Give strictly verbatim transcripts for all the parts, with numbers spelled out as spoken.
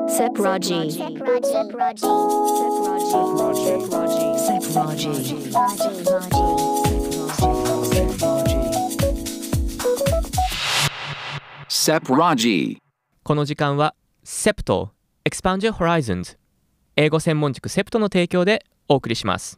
Sepraji. Sepraji. この時間は セプト Expand Your Horizons 英語専門塾セプトの提供でお送りします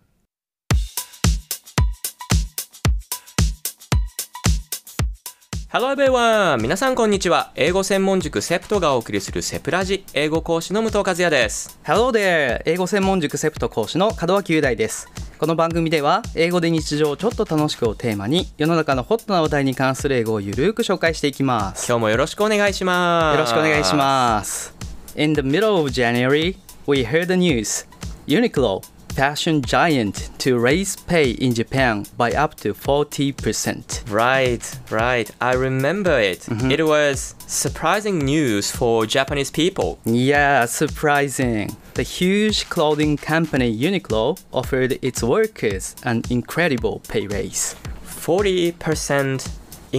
。Hello everyone! 皆さんこんにちは。英語専門塾セプトがお送りするセプラジ英語講師の武藤和也です。 Hello there! 英語専門塾セプト講師の門脇雄大です。この番組では英語で日常をちょっと楽しくをテーマに世の中のホットな話題に関する英語をゆるく紹介していきます。 今日もよろしくお願いします。 よろしくお願いします。 In the middle of January, we heard the news. Uniqlo, fashion giant, to raise pay in Japan by up to forty percent. Right, right. I remember it. Mm-hmm. It was surprising news for Japanese people. Yeah, surprising. The huge clothing company Uniqlo offered its workers an incredible pay raise. forty percent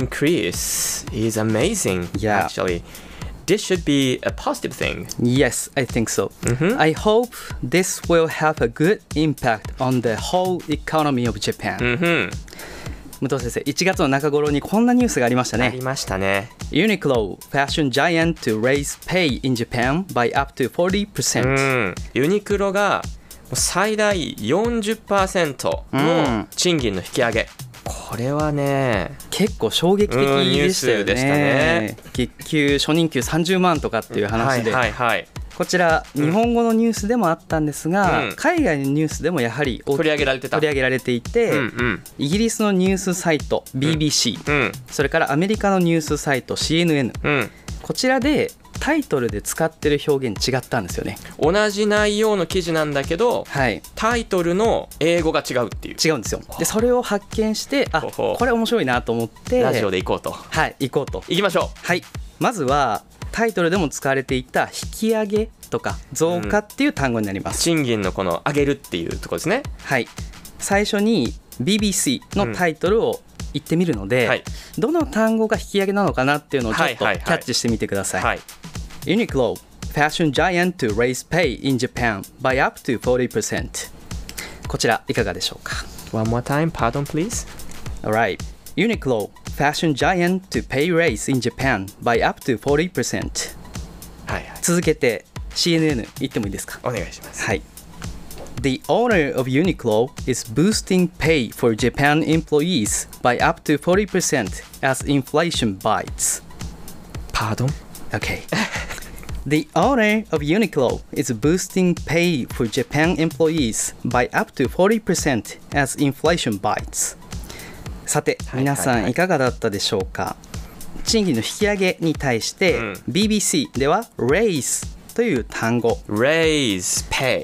increase is amazing, yeah. actually.This should be a positive thing. Yes, I think so. Mm-hmm. I hope this will have a good impact on the whole economy of Japan. Mm-hmm. 武藤先生、いちがつの中頃にこんなニュースがありましたね。 ありましたね。 Uniqlo, fashion giant to raise pay in Japan by up to forty percent. うん、ユニクロが最大 よんじゅっパーセント の賃金の引き上げ。これはね結構衝撃的でしたよね。 ニュースでしたね。 月給初任給さんじゅうまんとかっていう話で、 はいはいはい、 こちら日本語のニュースでもあったんですが、うん、海外のニュースでもやはり取り上げられてた取り上げられていて、うんうん、イギリスのニュースサイト ビービーシー、うん、それからアメリカのニュースサイト シーエヌエヌ、うん、こちらでタイトルで使ってる表現違ったんですよね。 同じ内容の記事なんだけど、 はい、 タイトルの英語が違うっていう。 違うんですよ。でそれを発見してあこれ面白いなと思ってラジオで行こうと。 はい行こうと。 行きましょう。 はい。まずはタイトルでも使われていた引き上げとか増加っていう単語になります、 うん、賃金のこの上げるっていうところですね。 はい。最初に ビービーシー のタイトルを言ってみるので、うんはい、どの単語が引き上げなのかなっていうのをちょっとキャッチしてみてください。はいはいはいUniqlo, fashion giant to raise pay in Japan by up to forty percent. こちらいかがでしょうか？ One more time, pardon please. Alright. Uniqlo, fashion giant to pay raise in Japan by up to forty percent. はいはい。 続けて シーエヌエヌ 言ってもいいですか？ お願いします。 はい。The owner of Uniqlo is boosting pay for Japan employees by up to forty percent as inflation bites. Pardon? Okay.The owner of Uniqlo is boosting pay for Japan employees by up to forty percent as inflation bites. さて、はいはいはい、皆さんいかがだったでしょうか？賃金の引き上げに対して、うん、ビービーシー では raise という単語 raise pay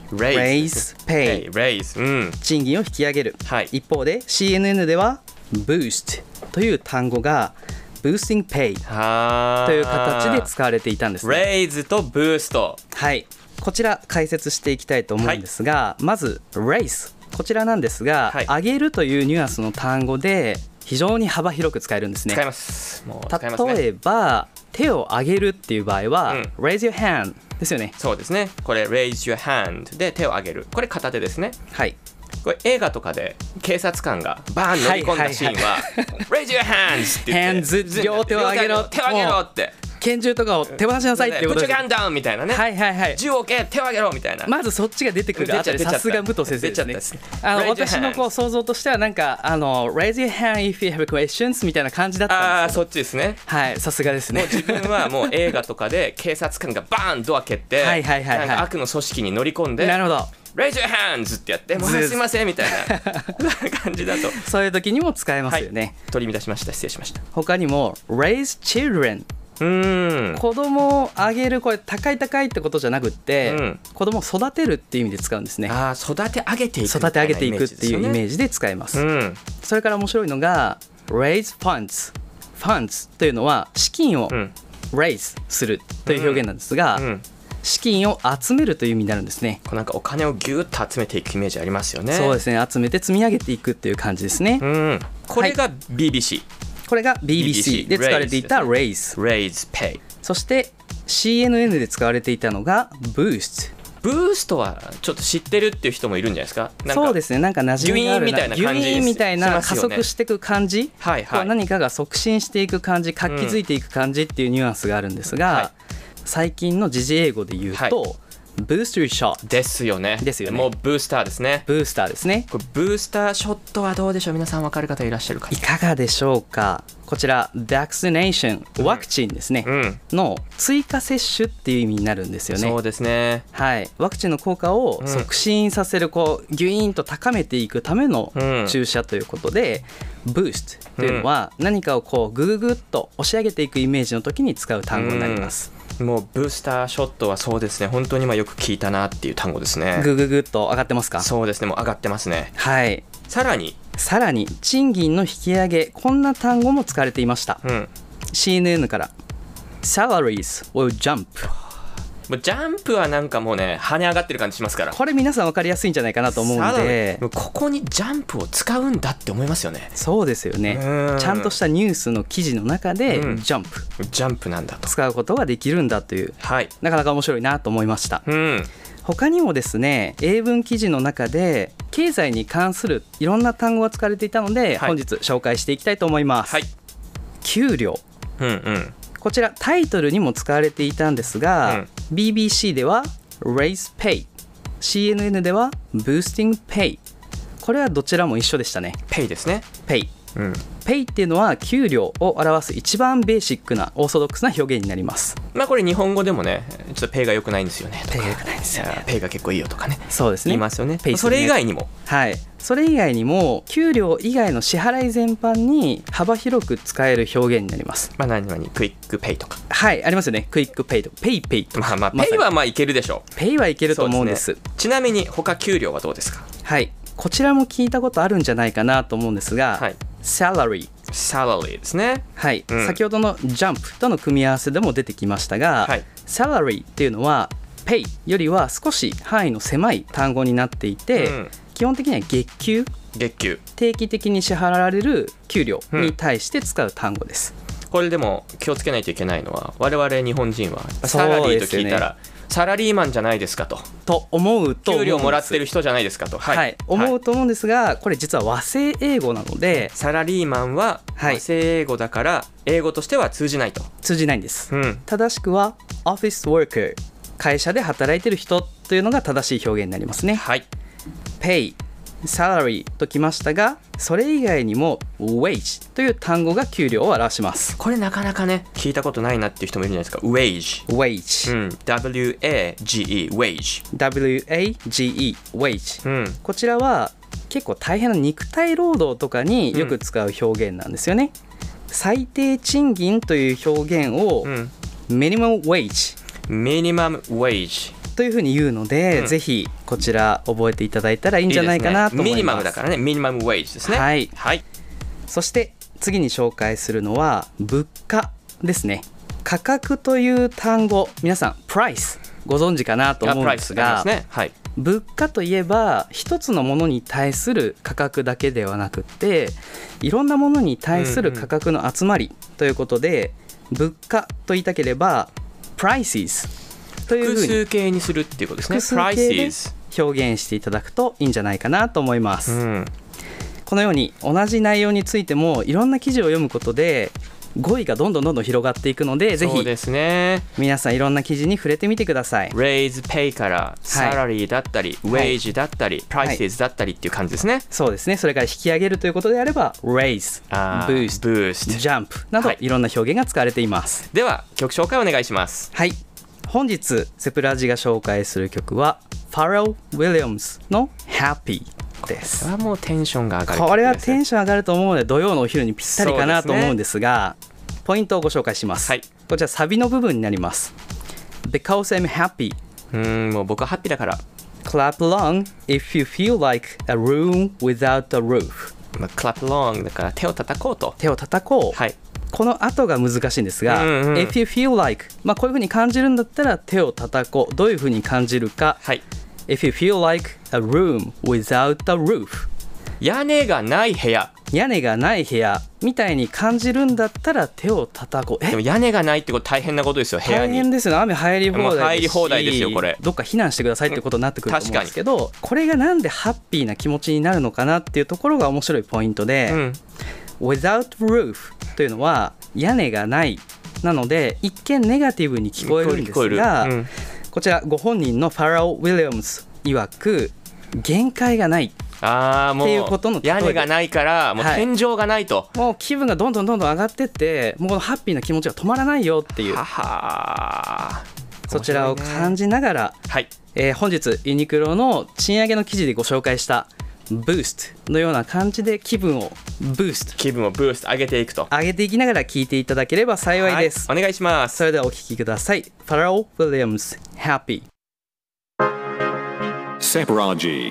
raise pay, raise、うん、 賃金を引き上げる、はい、一方で シーエヌエヌ では boost という単語がboosting pay という形で使われていたんですね。 raise と boost、 はい、こちら解説していきたいと思うんですが、はい、まず raise こちらなんですが、はい、上げるというニュアンスの単語で非常に幅広く使えるんですね。 使います。もう使いますね。 例えば手を上げるっていう場合は、うん、raise your hand ですよね。 そうですね。これ raise your hand で手を上げる、これ片手ですね。 はい。 これ映画とかで警察官がバーン乗り込んだシーンは、はいはいはい、Raise your hands って言って hands 両手を上げろ手を上げろって拳銃とかを手放しなさいっていうことです。 Put your gun down みたいなね、 はいはいはい、 銃を置け手を上げろみたいな、 まずそっちが出てくるあたりさすが武藤先生ですね。あの私のこう想像としてはなんかあの Raise your hand if you have questions みたいな感じだったんですけど、 あそっちですね。 はい、さすがですね。 もう自分はもう映画とかで警察官がバーンドア蹴ってはいはいはい、はい、なんか悪の組織に乗り込んで、 なるほど Raise your hands ってやってもうすいませんみたいな感じだとそういう時にも使えますよね、はい、 取り乱しました。失礼しました。 他にも Raise children、 うーん子供をあげる、これ高い高いってことじゃなくって、うん、子供を育てるっていう意味で使うんですね。 あ育て上げていく育て上げていくっていうイメージで使います、うん、それから面白いのが Raise funds funds というのは資金を raise するという表現なんですが、うんうん資金を集めるという意味になるんですね。 こうなんかお金をギュッと集めていくイメージありますよね。 そうですね、集めて積み上げていくっていう感じですね、うん、 これが ビービーシー、はい、 これが ビービーシー で使われていた raise raise pay。 そしてシーエヌエヌ で使われていたのが Boost。 ブーストはちょっと知ってるっていう人もいるんじゃないですか。なんかそうですね、なんか馴染みがあるな、 ギュイーンみたいな感じギュイーンみたいな加しますよね速していく感じ、 はいはいこう何かが促進していく感じ、活気づいていく感じっていうニュアンスがあるんですが、 はい最近の時事英語で言うと、 はいブースターショットですよね。 ですよねもうブースターですね。 ブースターですね。 これブースターショットはどうでしょう。皆さん分かる方いらっしゃるかいかがでしょうか。こちら vaccination ワクチンですね、 うんの追加接種っていう意味になるんですよね。 そうですね。 はい、ワクチンの効果を促進させる、こうギュイーンと高めていくためのうん注射ということで、ブーストというのは何かをこうグググッと押し上げていくイメージの時に使う単語になります。 もうブースターショットはそうですね、本当に今よく聞いたなっていう単語ですね。 グググッと上がってますか。 そうですね、もう上がってますね。 はい。 さらに、 さらに賃金の引き上げ、こんな単語も使われていました。 うん、 シーエヌエヌ から Salaries will jump。 もうジャンプはなんかもうね跳ね上がってる感じしますから。 これ皆さん分かりやすいんじゃないかなと思うんさらでに、もうここにジャンプを使うんだって思いますよね。 そうですよね。 うんちゃんとしたニュースの記事の中で、 うんジャンプジャンプなんだと。 使うことができるんだという、 はい。 なかなか面白いなと思いました。 うん。 他にもですね、英文記事の中で経済に関するいろんな単語が使われていたので、 はい本日紹介していきたいと思います。 はい。 給料、 うんうん。 こちらタイトルにも使われていたんですが、 うんビービーシー では Raise Pay、 シーエヌエヌ では Boosting Pay。 これはどちらも一緒でしたね。 ペイですね。 Pay、 うん。 Pay っていうのは給料を表す一番ベーシックなオーソドックスな表現になります。 まあこれ日本語でもね、ちょっとペイが良くないんですよねとか。 ペイが良くないんですよねいやペイが結構いいよとかね。 そうですね、 言いますよね。 ペイすそるねれ以外にも。 はい、それ以外にも給料以外の支払い全般に幅広く使える表現になります。 まあ何々クイックペイとか。 はい、ありますよね。クイックペイとかペイペイとか、 まあまあまさにペイはまあいけるでしょう。 ペイはいけると思うんです。 そうですね。ちなみに他給料はどうですか。 はい、こちらも聞いたことあるんじゃないかなと思うんですが、 はい。 salary、 サラリーですね。 はいうん先ほどの jump との組み合わせでも出てきましたが、 はい salary っていうのは pay よりは少し範囲の狭い単語になっていて、 うん基本的には月給、 月給。 定期的に支払われる給料に対して使う単語です。 これでも気をつけないといけないのは、我々日本人はそうサラリーとですよね聞いたら、サラリーマンじゃないですかと、 と思うと思うんです。 給料もらってる人じゃないですかと、 はい思うと思うんですが、これ実は和製英語なのでサラリーマンははい和製英語だから英語としては通じないと。 通じないんです。 うん。 正しくは office worker、 会社で働いてる人というのが正しい表現になりますね。 はい。 pay、 salary ときましたが、それ以外にも wage という単語が給料を表します。 これなかなかね聞いたことないなっていう人もいるじゃないですか。 wage。 wage、 うん。 ダブリューエージーイー wage。 ダブリューエージーイー wage、 うん。 こちらは結構大変な肉体労働とかによく使う表現なんですよね。最低賃金という表現をうん。 minimum wage ミニマム wage。 というふうに言うので、 うんぜひこちら覚えていただいたらいいんじゃないかなと思います。 ミニマムだからね。ミニマム wage ですね。 はいはい。 そして次に紹介するのは物価ですね。価格という単語、皆さんプライスご存知かなと思うんですが、 あプライスありますね。はい。 物価といえば一つのものに対する価格だけではなくっていろんなものに対する価格の集まりということで、物価と言いたければ prices という複ふうに数形にするっていうことですね。 複数形で prices。 表現していただくといいんじゃないかなと思います。 うん。 このように同じ内容についてもいろんな記事を読むことで語彙がどんどんどんどん広がっていくので、ぜひそうですね。 皆さんいろんな記事に触れてみてください。 raise pay からサラリーだったり、 はい wage だったり、prices だったりっていう感じですね。 そうですね。それから引き上げるということであれば raise、 あー boost、 boost。 jump などはいいろんな表現が使われています。 では曲紹介お願いします。 はい、本日セプラジが紹介する曲はファレル・ウィリアムズの Happy ですこれはもうテンションが上がる曲ですね。 これはテンション上がると思うので土曜のお昼にぴったりかなと思うんですが、ポイントをご紹介します、 はい、 こちらサビの部分になります。 Because I'm happy、 うーんもう僕はハッピーだから、 Clap along if you feel like a room without a roof、 まあ、clap along だから手を叩こうと。 手を叩こう、 はい。 この後が難しいんですが、 うんうん、 if you feel like、まあ、こういう風に感じるんだったら手を叩こう。どういう風に感じるか、 はい。 If you feel like a room without a roof、 屋根がない部屋。 屋根がない部屋みたいに感じるんだったら手を叩こう。えでも屋根がないってこと大変なことですよ、部屋に。 大変ですよね。雨入り放題ですし、 入り放題ですよこれ。 どっか避難してくださいってことになってくると思うんですけど、これがなんでハッピーな気持ちになるのかなっていうところが面白いポイントで、うん、without roof というのは屋根がないなので一見ネガティブに聞こえるんですが、うん、こちらご本人のファラオ・ウィリアムズ曰く限界がないあーもうっていうことの例えで、 屋根がないからもう天井がないと、 はい、もう気分がどんどんどんどん上がってってもうこのハッピーな気持ちが止まらないよっていう、 ははそちらを感じながら、 はい、 えー、本日ユニクロの賃上げの記事でご紹介したブーストのような感じで気分をブースト気分をブースト上げていくと上げていきながら聞いていただければ幸いです、 はい、お願いします。 それではお聞きください。ファラオ・ウィリアムズ Happy Sepraji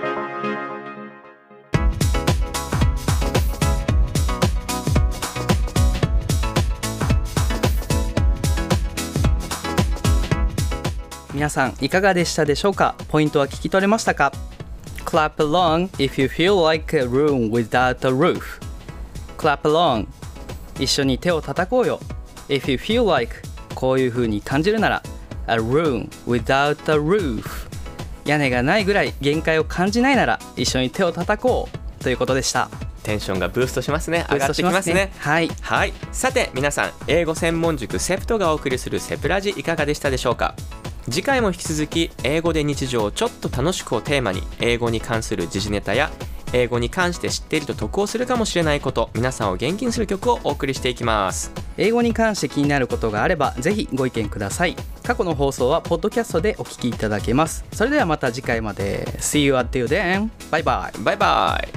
皆さんいかがでしたでしょうか。ポイントは聞き取れましたか。 Clap along if you feel like a room without a roof. Clap along 一緒に手を叩こうよ。 If you feel like こういう風に感じるなら a room without a roof 屋根がないぐらい限界を感じないなら一緒に手を叩こうということでした。 テンションがブーストしますね。上がってきますね。 はい、 はい、さて皆さん英語専門塾セプトがお送りするセプラジいかがでしたでしょうか。次回も引き続き英語で日常をちょっと楽しくをテーマに英語に関する時事ネタや英語に関して知っていると得をするかもしれないこと、皆さんを元気にする曲をお送りしていきます。 英語に関して気になることがあればぜひご意見ください。過去の放送はポッドキャストでお聞きいただけます。それではまた次回まで See you until then. バイバイバイバイ。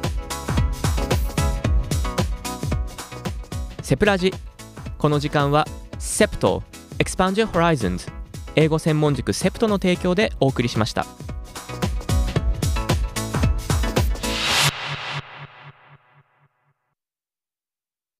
セプラジ、この時間はセプト Expand Your Horizons 英語専門塾セプトの提供でお送りしました。